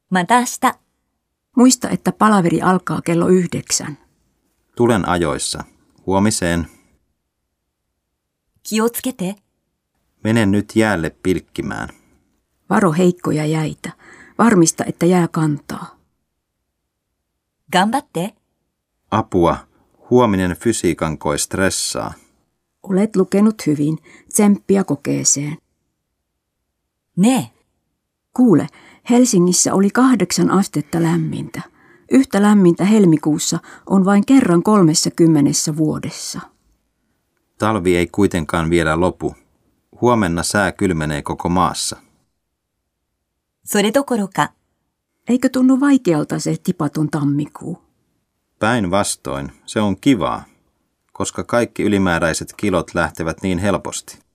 また明日。 Muista, että palaveri alkaa kello 9. Tulen ajoissa. Huomiseen. 気をつけて。 Menen nyt jäälle pilkkimään. Varo heikkoja jäitä. Varmista, että jää kantaa. 頑張って。 Apua. Huominen fysiikan koe stressaa. Olet lukenut hyvin. Tsemppiä kokeeseen. ねえ。 Kuule, Helsingissä oli 8 astetta lämmintä. Yhtä lämmintä helmikuussa on vain kerran 30 vuodessa. Talvi ei kuitenkaan vielä lopu. Huomenna sää kylmenee koko maassa. それどころか。 Eikö tunnu vaikealta se tipaton tammikuu? Päinvastoin, se on kivaa, koska kaikki ylimääräiset kilot lähtevät niin helposti.